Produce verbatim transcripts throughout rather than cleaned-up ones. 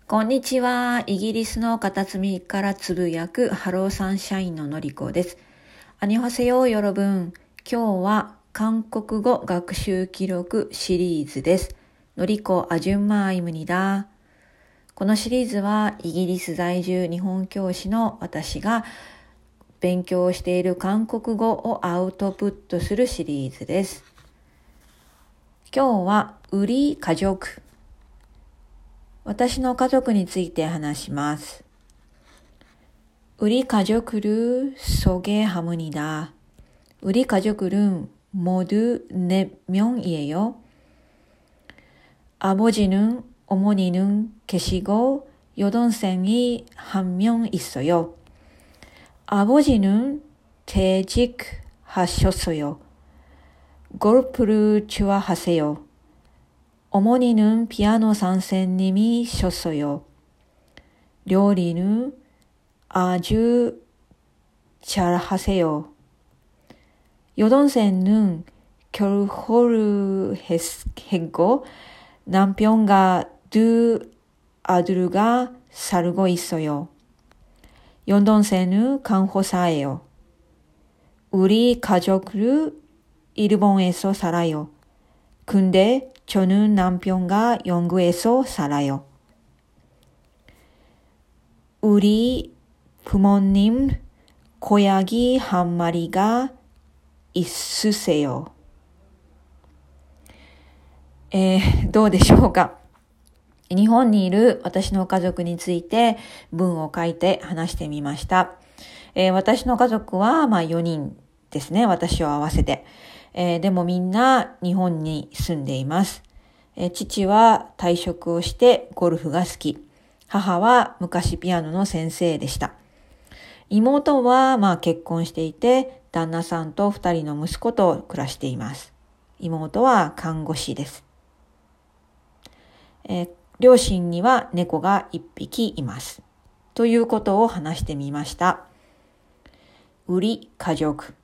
こんにちは。イギリスの片隅からつぶやくハローサンシャインののりこです。アニョハセヨヨロブン。今日は韓国語学習記録シリーズです。のりこあじゅんまいむにだ。このシリーズはイギリス在住日本教師の私が勉強している韓国語をアウトプットするシリーズです。今日はウリ家族。私の家族について話します。우리 가족을 소개합니다. 우리 가족은 모두 네 명이에요. 아버지는 어머니는 계시고 여동생이 한 명 있어요. 아버지는 퇴직하셨어요. 골프를 좋아하세요. 어머니는 피아노 선생님이셨어요. 요리는 아주 잘하세요. 여동생은 결혼을 했고 남편과 두 아들과 살고 있어요. 여동생은 간호사예요. 우리 가족은 일본에서 살아요. 근데 저는 남편과 영국에서 살아요. 우리 부모님 고양이 한 마리가 있으세요. えー、どうでしょうか。日本にいる私の家族について文を書いて話してみました。えー、私の家族はまあよにんですね。私を合わせて。えー、でもみんな日本に住んでいます。えー、父は退職をしてゴルフが好き。母は昔ピアノの先生でした。妹はまあ結婚していて、旦那さんと二人の息子と暮らしています。妹は看護師です。えー、両親には猫が一匹います。ということを話してみました。우리家族。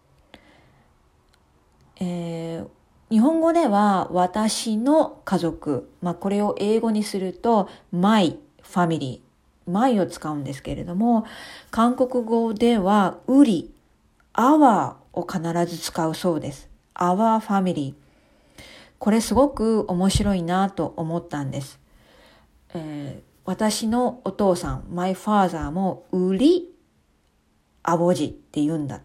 えー、日本語では私の家族、まあこれを英語にすると my family、my を使うんですけれども、韓国語ではウリ、our を必ず使うそうです。our family。これすごく面白いなと思ったんです。えー、私のお父さん、my father もウリ、アボジって言うんだって。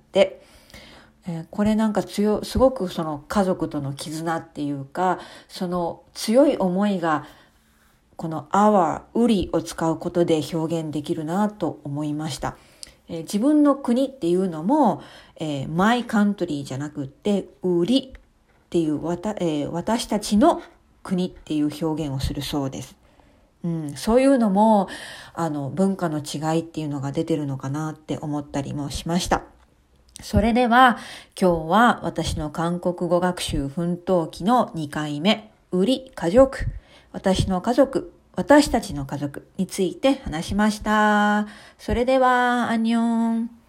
えー、これなんか強、すごくその家族との絆っていうか、その強い思いがこの our、ウリを使うことで表現できるなと思いました。えー、自分の国っていうのも、えー、my country じゃなくって、ウリっていうわた、えー、私たちの国っていう表現をするそうです。うん、そういうのもあの文化の違いっていうのが出てるのかなって思ったりもしました。それでは今日は私の韓国語学習奮闘記のにかいめ、ウリ家族、私の家族、私たちの家族について話しました。それでは、アンニョン。